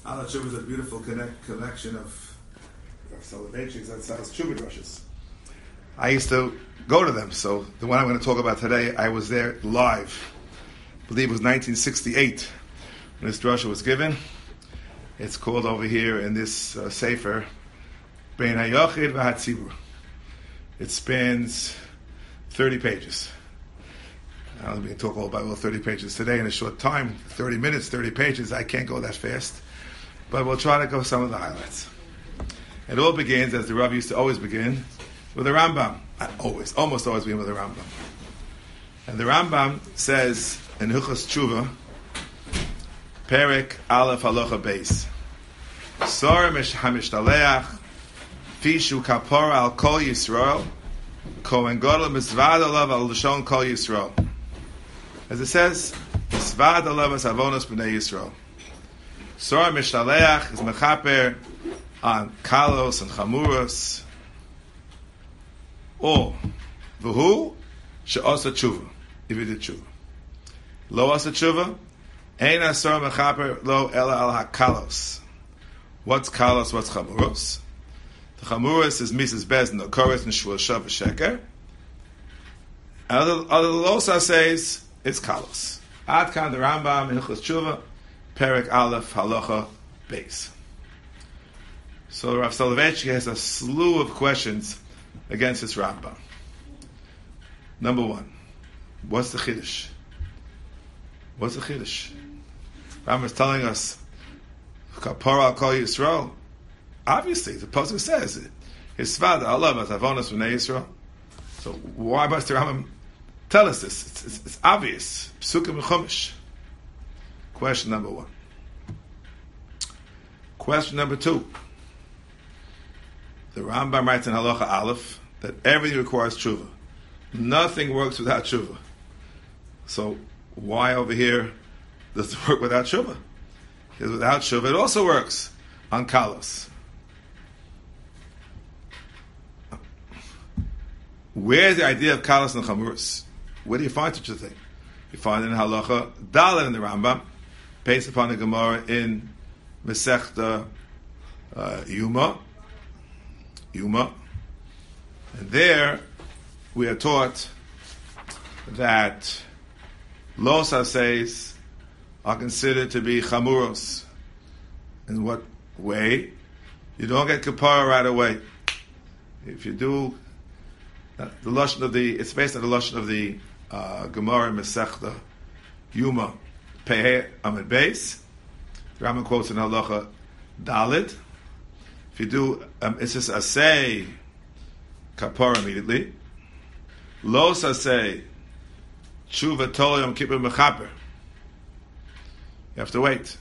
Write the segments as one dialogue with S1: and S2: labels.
S1: Ala Tshuva is a beautiful collection of Soloveitchiks that sells Tshuva drushes. I used to go to them, so the one I'm going to talk about today, I was there live. I believe it was 1968 when this drusha was given. It's called over here in this sefer, Bein HaYochid VaHatzibur. It spans 30 pages. I don't going to talk all about all 30 pages today in a short time. 30 minutes, 30 pages. I can't go that fast. But we'll try to go some of the highlights. It all begins, as the Rav used to always begin, with a Rambam. Almost always begin with a Rambam. And the Rambam says in Hilchos Tshuva, Perek Aleph Halacha Beis, Sor HaMishtaleach Fishu Kapora Al Kol Yisrael Kohen Gadol Mizvad Alav Al Lashon Kol Yisrael. As it says, Mizvad Alav As Avonos B'nei Yisrael. Sor HaMishtaleach is mechaper on kalos and chamuros. Or v'hu she'asa tshuva, if he did tshuva. Lo asa tshuva, ein asor mechaper lo ela al hakalos. What's kalos? What's chamuros? The chamuros is Mrs. Bezin, the chorus and shul shav sheker. Other losa says it's kalos. Ad kan the Rambam in Hilchos Tshuva, Perek Aleph Halacha Beis. So Rav Soloveitchik has a slew of questions against this Rambam. Number one, what's the Chiddush? What's the Chiddush? Rambam is telling us, Kapara al Kol Yisrael. Obviously, the pasuk says it. Hisvad Allah Avonos B'nei Yisrael. So why must the Rambam tell us this? It's obvious. Psukim Chumash. Question number one. Question number two. The Rambam writes in Halacha Aleph that everything requires tshuva. Nothing works without tshuva. So why over here does it work without tshuva? Because without tshuva it also works on kalos. Where's the idea of kalos and chamuros? Where do you find such a thing? You find it in Halacha Dalet in the Rambam, based upon the Gemara in Masechta Yuma. And there we are taught that los haseis are considered to be chamuros. In what way? You don't get kapara right away. If you do, the lashon of it's based on the lashon of the Gemara in Masechta Yuma Pehei Amid Beis. Rambam quotes in Halacha Dalet. If you do, it's just asay kapara immediately. Los asay tshuva tol yom kippur mechaper. You have to wait.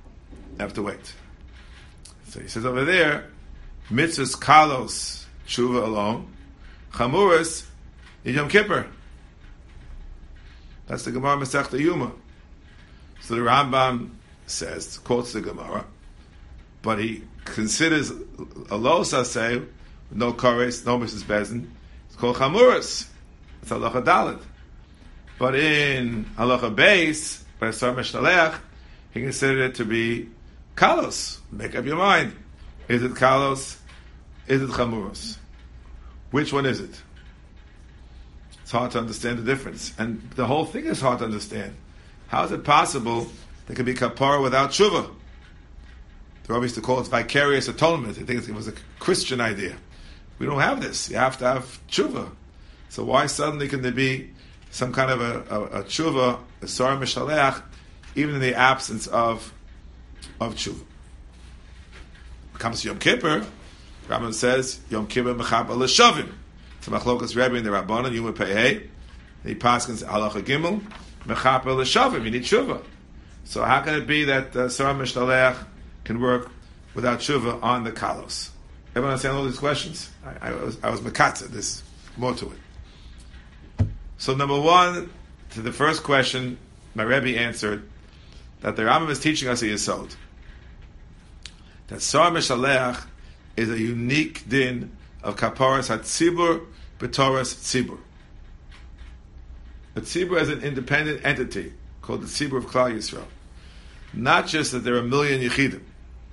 S1: So he says over there, mitzvahs kalos tshuva alone, chamuras yom kippur. That's the Gemara Masechta Yuma. So the Rambam says, quotes the Gemara, but he considers a los asay, no kores, no Mrs. Bezin. It's called chamuras. It's halacha dalet. But in halacha beis, by Sar Mishtaleach, he considered it to be kalos. Make up your mind. Is it kalos? Is it chamuras? Which one is it? It's hard to understand the difference. And the whole thing is hard to understand. How is it possible there could be kapara without tshuva? The Rabbi used to call it vicarious atonement. I think it was a Christian idea. We don't have this. You have to have tshuva. So why suddenly can there be some kind of a tshuva, a Sar Mishtaleach, even in the absence of tshuva? When it comes to Yom Kippur, Rambam says, Yom Kippur mechaper l'shavim. It's a machlokas Rebbe in the Rabbanan, Yuma Pehei. He paskins halacha gimel, mechaper l'shavim. You need tshuva. So how can it be that Sar Mishtaleach can work without tshuva on the kalos? Everyone understand all these questions? I was mekatza. There's more to it. So number one, to the first question, my Rebbe answered that the Rambam is teaching us a yesod. That Sar Mishtaleach is a unique din of kaparas hatzibur b'toras tzibur. The tzibur is an independent entity called the tzibur of Klal Yisrael. Not just that there are a million yechidim.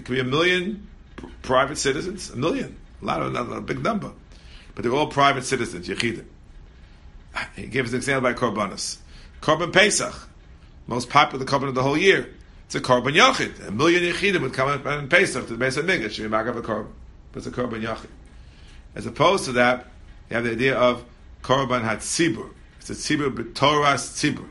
S1: There could be 1 million private citizens, 1 million, a big number, but they're all private citizens, Yechidim. He gives an example by Korbanos. Korban Pesach, most popular korban of the whole year. It's a Korban Yachid. 1 million Yechidim would come up in Pesach to the Beis HaMikdash, should be Magav a Korban. But it's a Korban Yachid. As opposed to that, you have the idea of Korban HaTzibur. It's a Tzibur B'Toras Tzibur.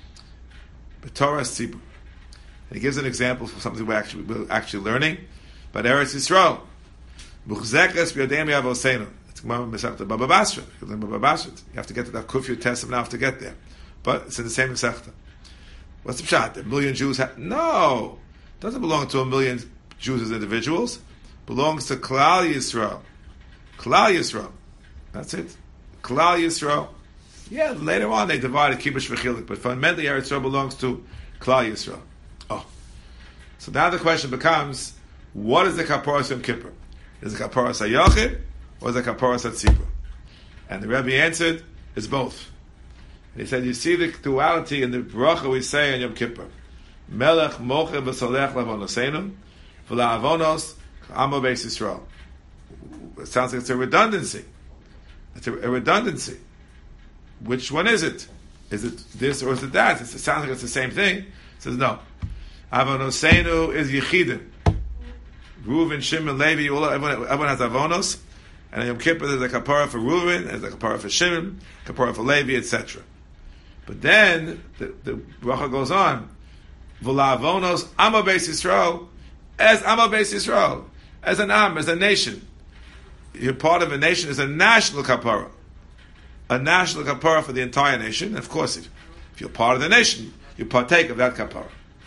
S1: B'Toras Tzibur. And he gives an example for something we're actually learning. But Eretz Yisrael, Muchzekes B'Yodem Yavosenu. It's Gemara Masechta Baba Basra. You have to get to that Kufya Tessim now to get there. But it's in the same Masechta. What's the pshat? 1 million Jews no! It doesn't belong to 1 million Jews as individuals. It belongs to Klal Yisrael. Klal Yisrael. That's it. Klal Yisrael. Yeah, later on they divided Kibush V'chilik, but fundamentally Eretz Yisrael belongs to Klal Yisrael. Oh. So now the question becomes, what is the Kaporas Yom Kippur? Is it Kaporas HaYachid, or is it Kaporas HaTzibur? And the Rebbe answered, it's both. And he said, you see the duality in the bracha we say on Yom Kippur. Melech mocher v'solech lavonoseinu, v'la'avonos amo beis Yisrael. It sounds like it's a redundancy. It's a redundancy. Which one is it? Is it this or is it that? It sounds like it's the same thing. It says no. Avonoseinu is Yechidim. Reuven, Shimon, Levi, everyone has Avonos. And in Yom Kippur there's a kapara for Reuven, there's a kapara for Shimon, kapara for Levi, etc. But then the bracha goes on. V'la'avonos amo beis Yisrael, as amo beis Yisrael, as an am, as a nation. You're part of a nation, is a national kapara. A national kapara for the entire nation. And of course, if you're part of the nation, you partake of that kapara.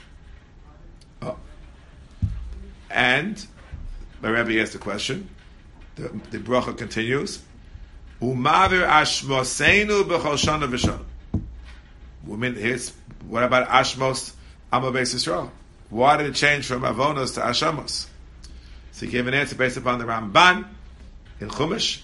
S1: Oh. And the Rebbe asked the question. The bracha continues. Umavir ashmoseinu b'chol shana v'shana. What about Ashmos Amo Beis Yisrael? Why did it change from Avonos to Ashamos? So he gave an answer based upon the Ramban in Chumash,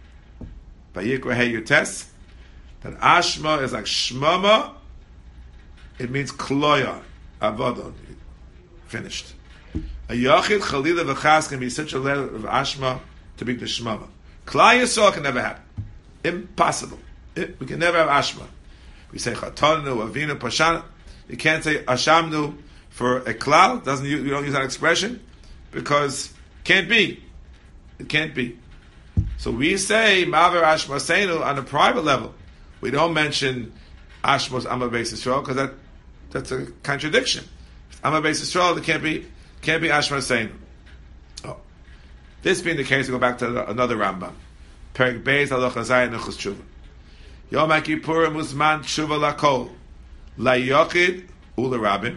S1: by Yikra Hey Yutes, that Ashma is like Shmama, it means Kloya, Avodon, finished. A Yachid Chalila V'chas can be such a letter of Ashma to be the Shmama. Klal Yisrael can never happen. Impossible. We can never have Ashma. We say Chatanu, Avinu, Pashana. You can't say Ashamnu for a Klal. You don't use that expression because it can't be. It can't be. So we say Maver Ashmaseinu on a private level. We don't mention Ashmos Amma Beis Yisrael because that's a contradiction. Amma Beis Yisrael, it can't be Ashmaseinu. Oh. This being the case, we go back to another Rambam. Perek Beis Halacha Zayin Nechus Tshuva. Yom HaKippurim Uzman Tshuva Lakol LaYochid ULeRabim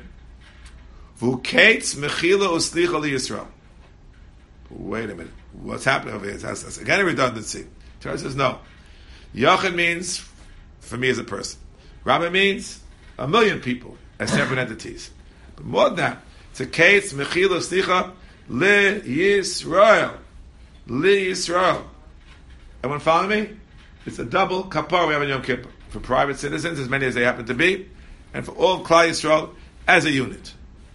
S1: V'Kates Mechila Uslicha LiYisrael. Wait a minute. What's happening over here? That's again a redundancy. Torah says no. Yochid means for me as a person. Rabbi means 1 million people as separate entities. But more than that, it's a case Mechila Uslicha LiYisrael. LiYisrael. Everyone follow me? It's a double kapar we have in Yom Kippur. For private citizens, as many as they happen to be, and for all Klal Yisrael as a unit.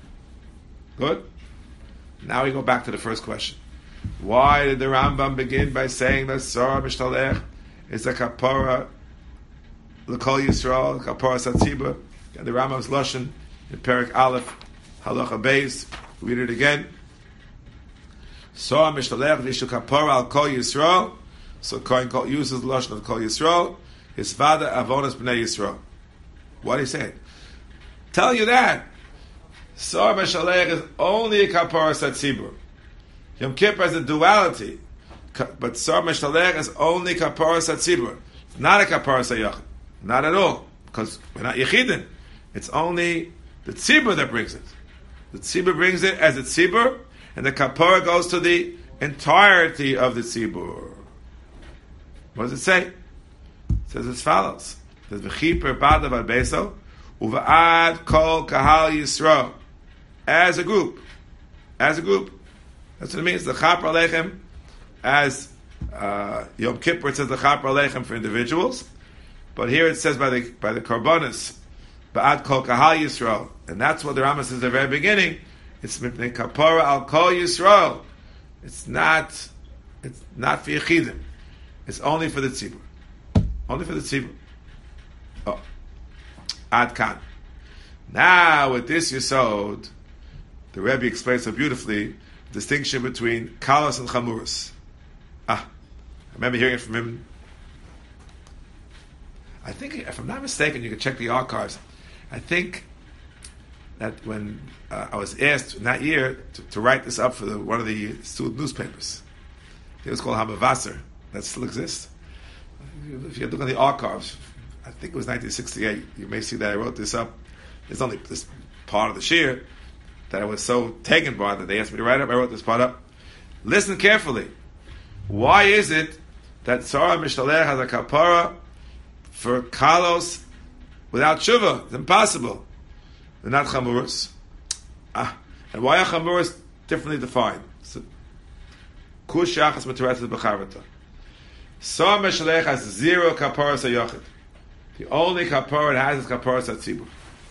S1: Good? Now we go back to the first question. Why did the Rambam begin by saying that Sarah Mishtalech is a kapara l'Kol Yisrael, kapara Satzibur? And the Rambam's Lashon in Perek Aleph, Halacha Beis. Read it again. Sarah Mishtalech v'ishu kapara al Kol Yisrael. So Kohen uses the Lashon of Kol Yisrael. His father Avonos B'nai Yisrael. What did he say? Tell you that Sar B'Shalech is only a kapara Satzibur. Yom Kippur has a duality, but Sar B'Shalech is only kapara Satzibur. It's not a kapara Sayachid. Not at all. Because we're not Yechidin. It's only the Tzibur that brings it. The Tzibur brings it as a Tzibur, and the kapara goes to the entirety of the Tzibur. What does it say? It says as follows. It says, V'chiper badav al beso, uva'ad kol kahal Yisrael. As a group. As a group. That's what it means. The Chapar Aleichem, as Yom Kippur, it says the Chapar Aleichem for individuals. But here it says by the Korbanos, ba'ad kol kahal Yisrael. And that's what the Rambam says at the very beginning. It's mipnei kapara al kol Yisrael. It's not for Yechidim. It's only for the tzibur. Only for the tzibur. Oh. Ad kan. Now, with this Yesod, the Rebbe explains so beautifully the distinction between kalos and chamuros. I remember hearing it from him. I think, if I'm not mistaken, you can check the archives. I think that when I was asked in that year to write this up for one of the student newspapers, it was called Hamavasser. That still exists. If you look on the archives, I think it was 1968, you may see that I wrote this up. There's only this part of the shir that I was so taken by that they asked me to write up. I wrote this part up. Listen carefully. Why is it that Tzara Mishtalech has a kapara for kalos without tshuva? It's impossible. They're not chamuros. And why are chamuros differently defined? Kush yachas materetzes b'charvata. Tzara Mishtalech has 0 kaparas hayochid. The only kapara it has is kaparas hatzibur.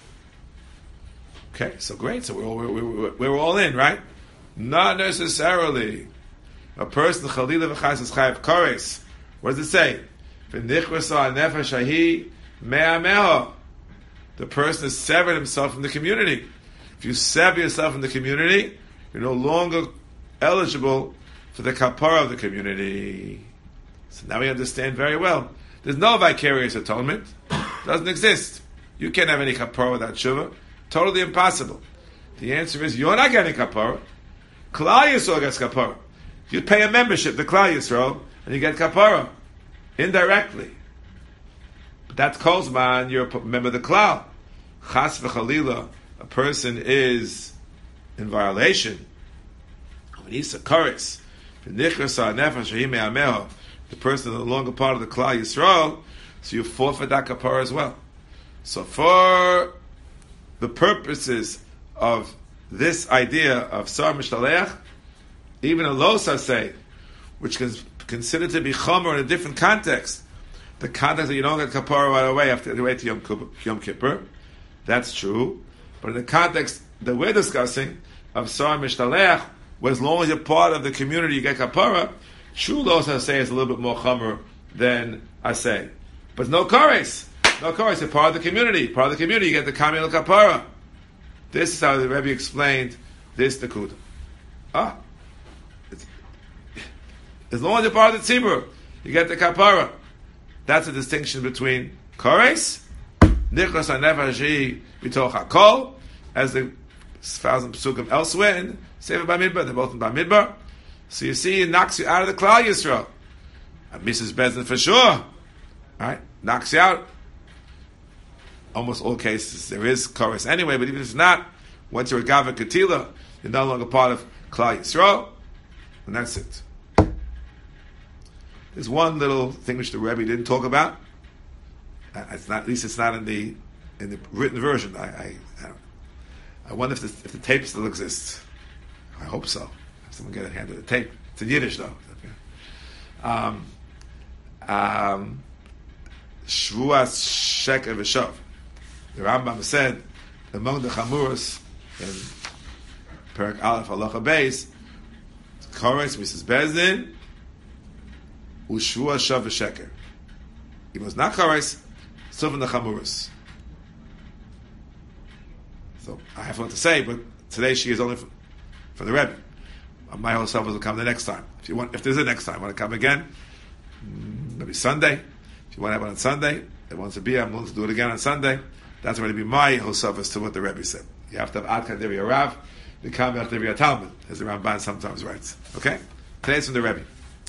S1: Okay, so great. So we're all in, right? Not necessarily. A person chalila v'chas is chayav kores. What does it say? V'nichvasa nefesh hahi mea meha. The person has severed himself from the community. If you sever yourself from the community, you're no longer eligible for the kapara of the community. So now we understand very well. There's no vicarious atonement. It doesn't exist. You can't have any kapara without tshuva. Totally impossible. The answer is you're not getting kapara. Klal Yisrael gets kapara. You pay a membership to Klal Yisrael and you get kapara indirectly. But that's Kozman. You're a member of the Klal. Chas v'chalila, a person is in violation. When he's a kares, the person is no longer part of the Klal Yisrael, so you forfeit that kapara as well. So for the purposes of this idea of Sar Mishtaleach, even a Losa say, which is considered to be Chomer in a different context, the context that you don't get kapara right away after you wait to Yom Kippur, that's true. But in the context that we're discussing of Sar Mishtaleach, where as long as you're part of the community you get kapara, true Losa say is a little bit more Chomer than I say. But no kares. No, of course, you're part of the community. Part of the community, you get the Kamil Kapara. This is how the Rebbe explained this Nakuda. As long as you're part of the Tzibur, you get the Kapara. That's the distinction between Kores, Nichlas HaNefesh B'toch HaKol, as the 1,000 Pesukim elsewhere in Sefer Bamidbar. They're both in Bamidbar. So you see, it knocks you out of the Klal Yisrael. And Mrs. Bezdin for sure. Right? Knocks you out. Almost all cases there is chorus anyway, but even if it's not, once you're a Gava Ketila, you're no longer part of Klal Yisrael, and that's it. There's one little thing which the Rebbe didn't talk about. It's not, at least it's not in the written version. I wonder if the tape still exists. I hope so. If someone get a hand of the tape. It's in Yiddish though. Shvuas Sheker V'Shav. The Rambam said among the Chamuros in Perek Aleph Halacha Beis, Kores Mrs. Bezdin, Ushvua Shav V'Sheker. He was not Kores, still from the Chamuros. So I have what to say, but today she is only for the Rebbe. My whole self will come the next time. If there's a next time, want to come again? Maybe Sunday. If you want to have one on Sunday, it wants to be, I'm willing to do it again on Sunday. That's going to be my Hosaf as to what the Rebbe said. You have to have Ad Kadiri Rav, the Kamel Kadiri Talmud, as the Ramban sometimes writes. Okay? Today's from the Rebbe.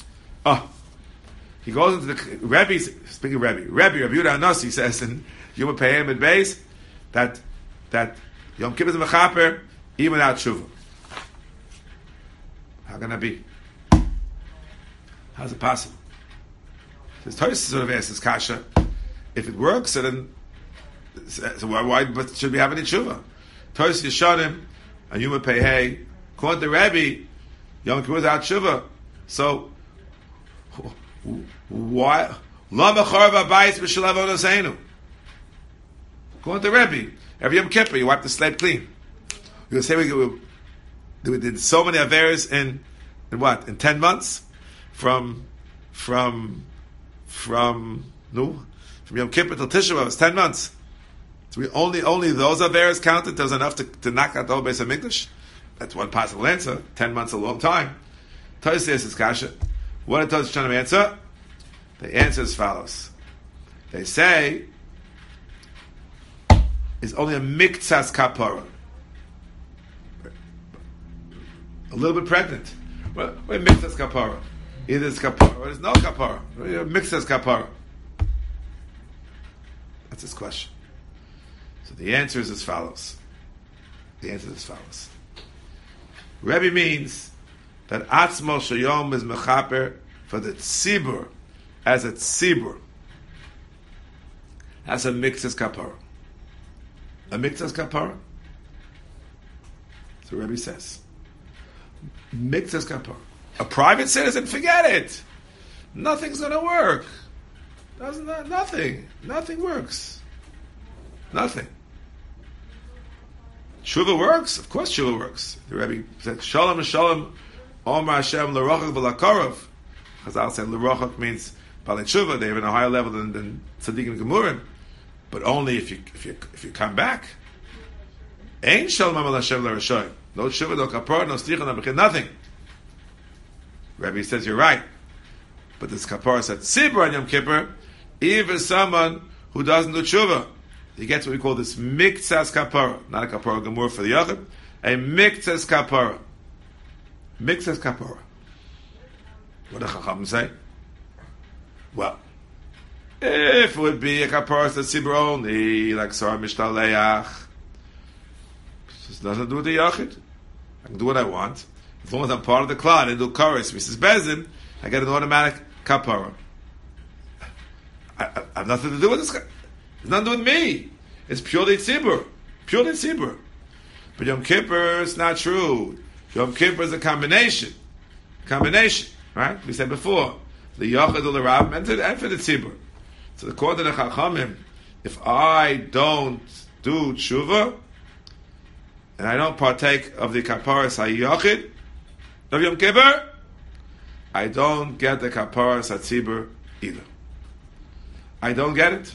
S1: He goes into the Rebbe, speaking of Rebbe Yehuda Anasi says in Yom Peyem and Beis that Yom Kippur is a mechaper even without tshuva. How can that be? How's it possible? This Tosfos sort of asks this kasha. If it works, then why should we have any tshuva? Tosfos Yeshanim and Yom Peyhei, according to Rebbe, Yom Kippur without tshuva. So why? Lama Charva Bayis B'Shalav Onoseinu. According to Rebbe, every Yom Kippur you wipe the slate clean. You'll say We did so many averes in what? In 10 months? From Yom Kippur till Tisha B'Av, it's 10 months. So we only those averes counted. There was enough to knock out the whole Beis HaMikdash. That's one possible answer. 10 months is a long time. Tosfos says it's kasha. What are Tosfos trying to answer? The answer is as follows. They say it's only a miktsas kapara. A little bit pregnant. Well, miktsas kapara. Either it's kapara or there's no kapara. Miktsas kapara. That's his question. So the answer is as follows. Rebbe means that Atzmo Shayom is mechaper for the tzibur as a tzibur. That's a miktsas kapara. A miktsas kapara? So Rebbe says. Miktsas kapara. A private citizen, forget it. Nothing's going to work. Nothing works. Nothing. Tshuva works? Of course tshuva works. The Rebbe said, Shalom, Shalom, Omar Hashem, L'rochak v'lakarov. Chazal said, L'rochak means Balei Tshuva. They have a higher level than Tzaddik and Gemurim. But only if you come back. Ein Shalom Amal Hashem L'rashoyim. No tshuva, no kapar, no sticha, no bechid, nothing. Rebbe says, you're right. But this kapar said, Tzibur on Yom Kippur, even someone who doesn't do tshuva. He gets what we call this miktsas kapara, not a kapara gemur for the yachid, a miktsas kapara. Miktsas kapara. What do Chacham say? Well, if it would be a kapara that's tzibur only, like Sarah Mishtaleach, this doesn't do with the yachid. I can do what I want. As long as I'm part of the klal and do kares, Mrs. Bezin, I get an automatic kapara. I have nothing to do with this guy. It's nothing to do with me. It's purely tzibur. Purely tzibur. But Yom Kippur, it's not true. Yom Kippur is a combination. Right? We said before. The Yachad ul Rav and for the tzibur. So according to the Chachamim, if I don't do tshuva, and I don't partake of the kaparas hayachid of Yom Kippur, I don't get the kaparas hatzibur either. I don't get it.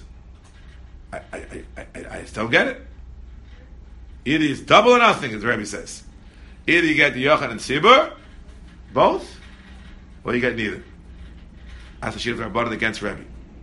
S1: I still get it. Either it's double or nothing, as the Rebbe says. Either you get the Yochanan and Tzibur, both, or you get neither. That's the Shir of Rabbanan against Rebbe.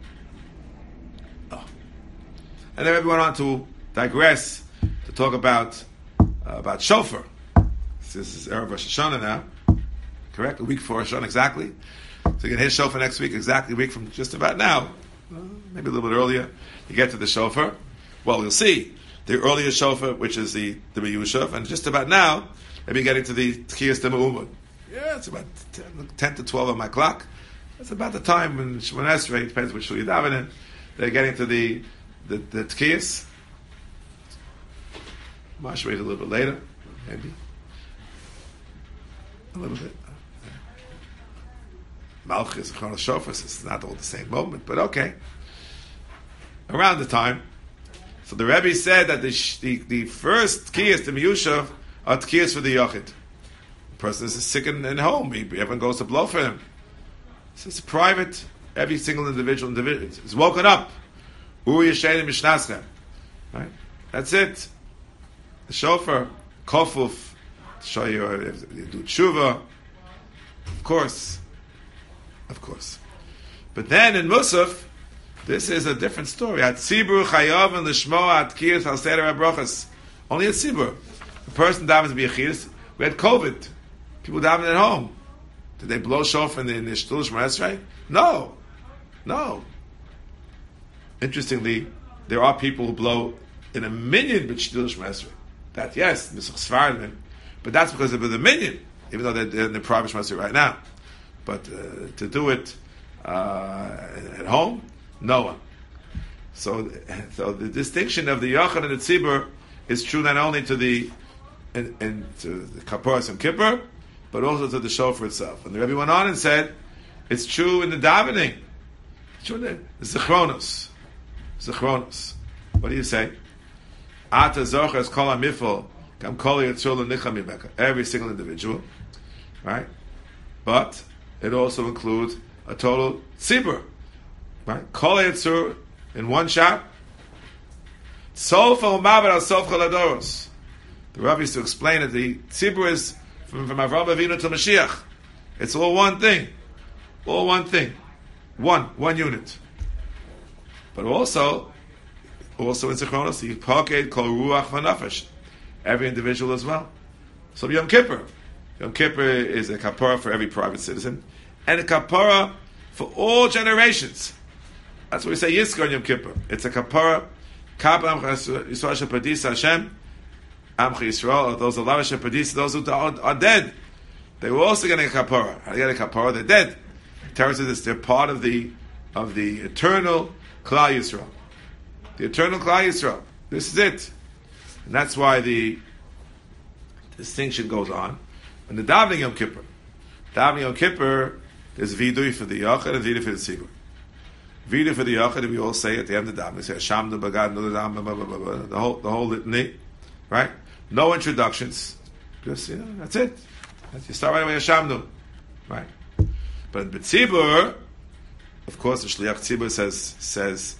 S1: Oh. And then Rebbe went on to digress to talk about shofar. This is Erev Rosh Hashanah now, correct? A week before Rosh Hashanah exactly. So you can hear shofar next week, exactly a week from just about now. Maybe a little bit earlier, you get to the shofar. Well, you'll see the earlier shofar, which is the Miyushav, and just about now, maybe getting to the Tkiyas Dema'umud. Yeah, it's about 10 to 12 on my clock. That's about the time when Shemon Esrei, depends which shul you daven in, they're getting to the Tkiyas. Mash wait a little bit later, maybe. A little bit. Malchus, Chronos Shofas, it's not all the same moment, but okay. Around the time. So the Rebbe said that the first Tkiyas, the Miyushav, are Tkiyas for the Yochid. The person is sick in home, everyone goes to blow for him. So it's private, every single individual is woken up. Uri Yeshenim Mishnascha. Right? That's it. The shofar, kofuf, to show you if you do tshuva. Of course. But then in Musaf, this is a different story. At Tzibur chayav and l'shmoa at kiyas al seder habrachas. Only at Tzibur. The person davens to be a chiyas. We had COVID. People daven at home. Did they blow shofar in the shtul Shemon Esrei? No. Interestingly, there are people who blow in a minyan with shtul Shemon Esrei. That yes, but that's because of the minyan, even though they're in the private Shemon Esrei right now. But to do it at home, no one. So the distinction of the Yochanan and the Tzibur is true not only to the Kaparas and Kippur, but also to the shofar itself. And the Rebbe went on and said, it's true in the davening. It's true in the Zichronos. What do you say? Ata zochas kol hamifol Every single individual, right? But it also includes a total tzibur, right? Kol Yitzur in one shot. Sofa u'mavet al sofa ladoros. The Rav used to explain that the tzibur is from Avraham Avinu to Mashiach. It's all one thing, one unit. But also in Zichronos, the Paked Kol Ruach V'Nafesh, every individual as well. So Yom Kippur is a kapara for every private citizen, and a kapara for all generations. That's what we say Yizkor Yom Kippur. It's a kapara. Kap Amcha Yisrael Shepadisa Hashem, Amcha Yisrael, those Allah Shepadisa, those who are dead. They were also getting a kapara. How do they get a kapara? They're dead. Torah says they're part of the eternal Klal Yisrael. The eternal Klal Yisrael. This is it. And that's why the distinction goes on. And the davening Yom Kippur. Davening Yom Kippur, there's vidui for the Yachid and vidui for the Tzibur. Vidui for the Yachid, we all say at the end of the davening, we say Hashem the Bagad, the whole litany, right? No introductions. Just, that's it. You start right away Hashem, right? But in the Tzibur, of course, the Shliach Tzibur says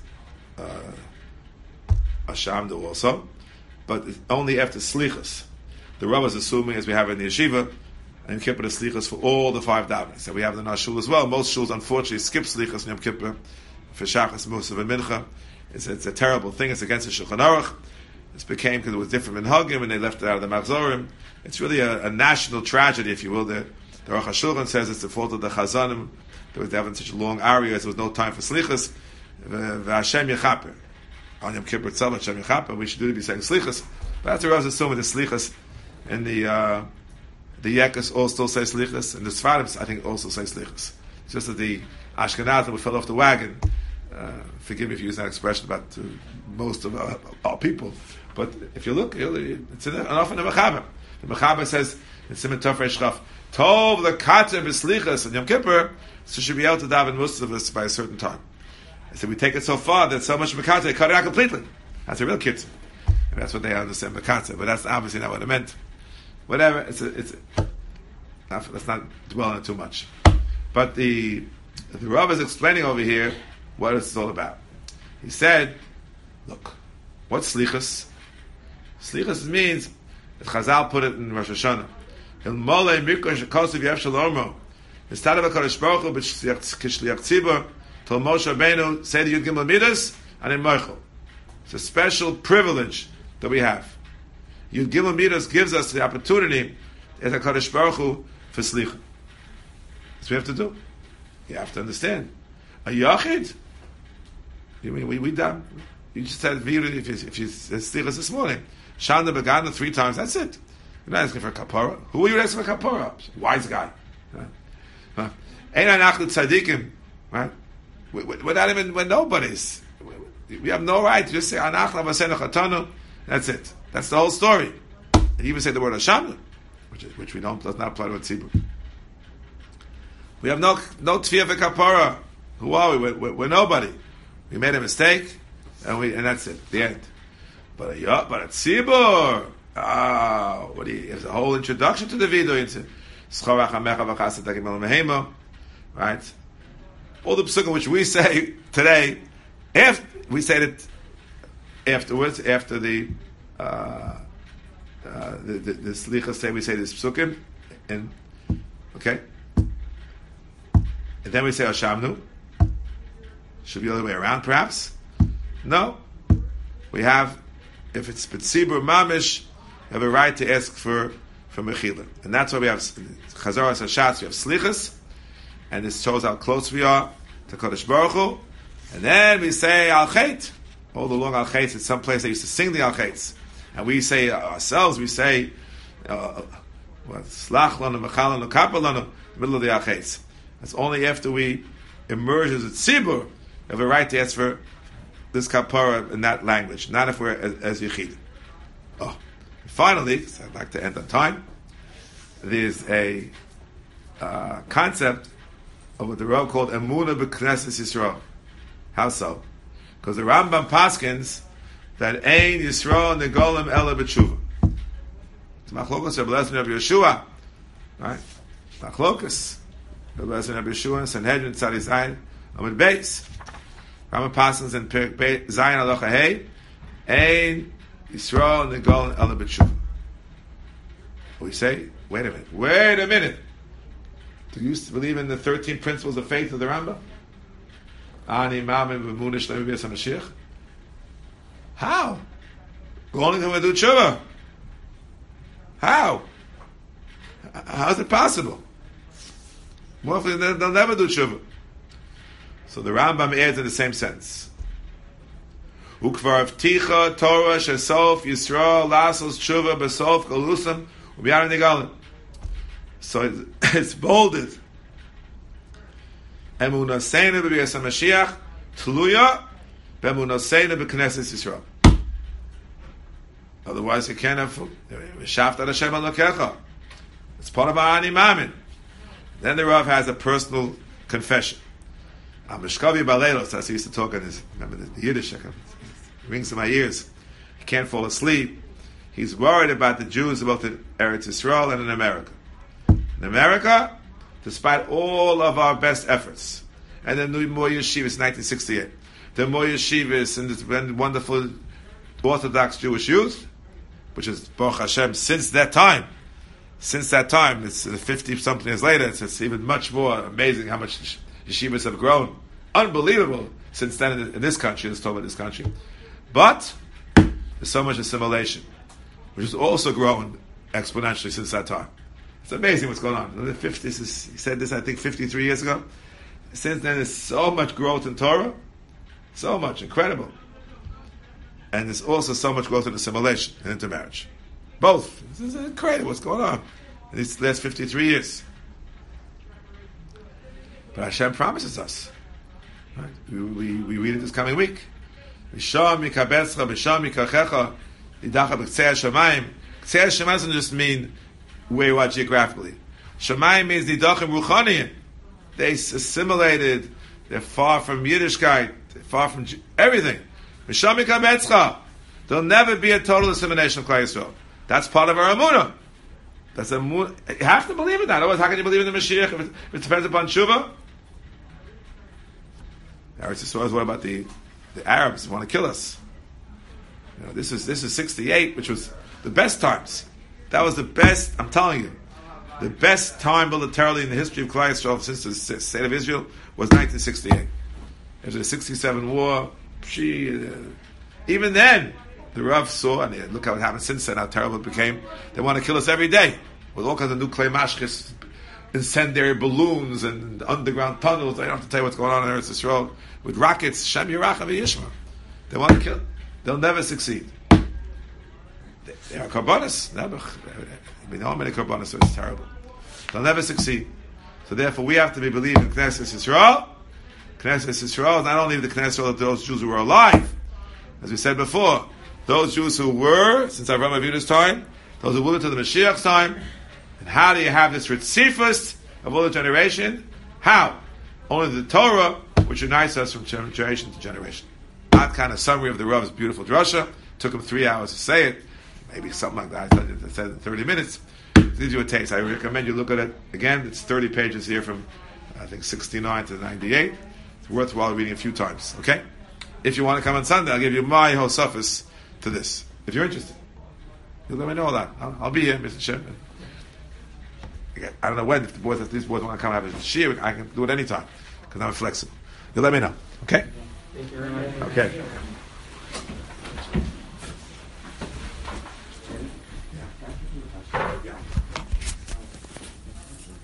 S1: Hashamdu also, but only after Slichas. The Rav is assuming, as we have in the Yeshiva, and Kippur the Slichas for all the 5 davenings. And we have in our shul as well. Most shuls, unfortunately, skip Slichas in Yom Kippur for Shachas, Musaf, and Mincha. It's a terrible thing. It's against the Shulchan Aruch. It became because it was different minhagim, and they left it out of the Machzorim. It's really a national tragedy, if you will. The Aruch HaShulchan says it's the fault of the Chazanim. They were having such long arias, there was no time for Slichas. V'Hashem Yechaper. On Yom Kippur itself, Hashem Yechaper, we should do to be saying Slichas. But that's what I was assuming, the Slichas, and the Yekas all still say Slichas, and the Sfaradim, I think, also say Slichas. It's just that the Ashkenazim fell off the wagon. Forgive me if you use that expression about most of our people. But if you look, it's often a Mechaber. The Mechaber says, in Siman Tov Reish Chaf, Tov the Kater B'Slichas and Yom Kippur, so should be able to daven Musaf by a certain time. I said, we take it so far that so much Mekateh, they cut it out completely. That's a real kitzur. And that's what they understand Mekateh, but that's obviously not what it meant. Whatever, let's not dwell on it too much. But the Rav is explaining over here what it's all about. He said, look, what's Slichas? Slichas means, that Chazal put it in Rosh Hashanah. Il Molei Mikra Shekosiv Yev Shalomo. Instead of a Kodesh Baruch Hu, Kishliach Tzibur, Tol Moshe Rabbeinu, say the Yud Gimel Midas, and in Moichel. It's a special privilege that we have. Yud Gimel Midas gives us the opportunity as a Kodesh Baruch Hu for Slicha. That's what we have to do. You have to understand. A Yachid, we done. You just said Viru, if you Slichas this morning. Shanda Begana 3 times, that's it. You're not asking for a kapara. Who are you asking for a kapara? Wise guy. Ain't anachnu tzadikim, right? We're not even, we're nobodies. We have no right to just say anachnu v'asenu chatanu. That's it. That's the whole story. And even say the word Hashem, which we does not apply to a tzibur. We have no tefillah for kapara. Who are we? We're nobody. We made a mistake, and that's it. The end. But a tzibur. What do you? There's a whole introduction to the video. Right? All the psukim which we say today, we say it afterwards, after the slichas say we say this psukim, and okay, and then we say Hashamnu. Should be the other way around, perhaps. No, we have, if it's B'tzibur Mamish, you have a right to ask for Mechila. And that's why we have Chazaras Hashatz, we have Slichas, and this shows how close we are to Kodesh Baruch Hu. And then we say Al Chet. All the long Al Chet, it's some place they used to sing the Al Chet. And we say ourselves, we say, Slach Lanu, Mechal Lanu, Kappa Lanu, in the middle of the Al Chet. That's only after we emerge as a Tzibur, we have a right to ask for this kapara in that language, not if we're as Yechid. Oh. Finally, so I'd like to end on time, there's a concept of what the Rav called Emunah B'Knesses Yisrael. How so? Because the Rambam paskins that Ein Yisrael Negolim Ela B'Tshuva. Machlokas Rabbi Eliezer and Rabbi Yeshua. Right? Machlokas. Rabbi Eliezer and Rabbi Yeshua and Sanhedrin Tzadi Zayin Amud Beis. Rama Pasans and Zayin Alocha Hey. Ein Yisrael Nigol Ela B'Tshuva. We say, wait a minute. Do you believe in the 13 principles of faith of the Rambam? Ani Ma'amim V'Munah Shlemi B'Yas HaMashiach. How? Only going to do tshuva. How? How is it possible? More often they'll never do tshuva. So the Rambam adds in the same sense. Ukvar Avticha Torah Shesof Yisrael Lasos Tshuva Besof Galusam U'Biyar Nigalim. So it's bolded. Emunah Seina B'Yas HaMashiach Tluya B'Emunah Seina B'Knesset Yisrael. Otherwise, you can't have Shaft Ad Hashem Elokecha. It's part of our Ani Mamin. Then the Rav has a personal confession. Mishkavi Baleilos, as he used to talk in his, remember the Yiddish, it rings in my ears. He can't fall asleep. He's worried about the Jews both in Eretz Yisrael and in America. In America, despite all of our best efforts, and the new Moy Yeshivas 1968, the Moy Yeshivas and the wonderful Orthodox Jewish youth, which is Baruch Hashem since that time, it's 50-something years later, it's even much more amazing how much yeshivas have grown. Unbelievable since then in this country, let's talk about this country. But there's so much assimilation, which has also grown exponentially since that time. It's amazing what's going on. In the 50s, he said this, I think, 53 years ago. Since then, there's so much growth in Torah. So much, incredible. And there's also so much growth in assimilation and intermarriage. Both. This is incredible what's going on in these last 53 years. But Hashem promises us. Right? We read it this coming week. Misham mikabetzcha, misham mikachecha, idacha b'ktzei hashamayim. Ktzei hashamayim doesn't just mean where you are geographically. Shamayim means nidachim ruchaniyim. They assimilated. They're far from Yiddishkeit. They're far from everything. Misham mikabetzcha. There'll never be a total assimilation of Klal Yisrael. That's part of our emunah. You have to believe in that. Otherwise, how can you believe in the Mashiach if it depends upon tshuva? Eretz Yisrael is what about the Arabs who want to kill us? You know, this is 68, which was the best times. That was the best. I'm telling you, the best time militarily in the history of Klal Yisrael since the state of Israel was 1968. After the 67 war, even then, the Rav saw, and look how it happened since then, how terrible it became. They want to kill us every day with all kinds of nuclear mashkis, incendiary balloons, and underground tunnels. I don't have to tell you what's going on in Eretz Yisrael with rockets. Shem Yerachim Yishma. They want to kill. They'll never succeed. They are karbanis. Never. We know how many karbanis, so it's terrible. They'll never succeed. So therefore, we have to be believing in Knesset Yisrael. Knesset Yisrael is not only the Knesset of those Jews who were alive, as we said before. Those Jews who were, since Avraham Avinu's time, those who will to the Mashiach's time, and how do you have this ritzifus of all the generation? How? Only the Torah, which unites us from generation to generation. That kind of summary of the Rav's beautiful drasha. Took him 3 hours to say it, maybe something like that. I said it in 30 minutes. It gives you a taste. I recommend you look at it again. It's 30 pages here from, I think, 69 to 98. It's worthwhile reading a few times. Okay? If you want to come on Sunday, I'll give you my whole suffix to this. If you're interested, you'll let me know that. I'll be here, Mr. Shem. I don't know when. If these boys want to come have a shiur, I can do it anytime because I'm flexible. You'll let me know. Okay?
S2: Thank you very much.
S1: Okay.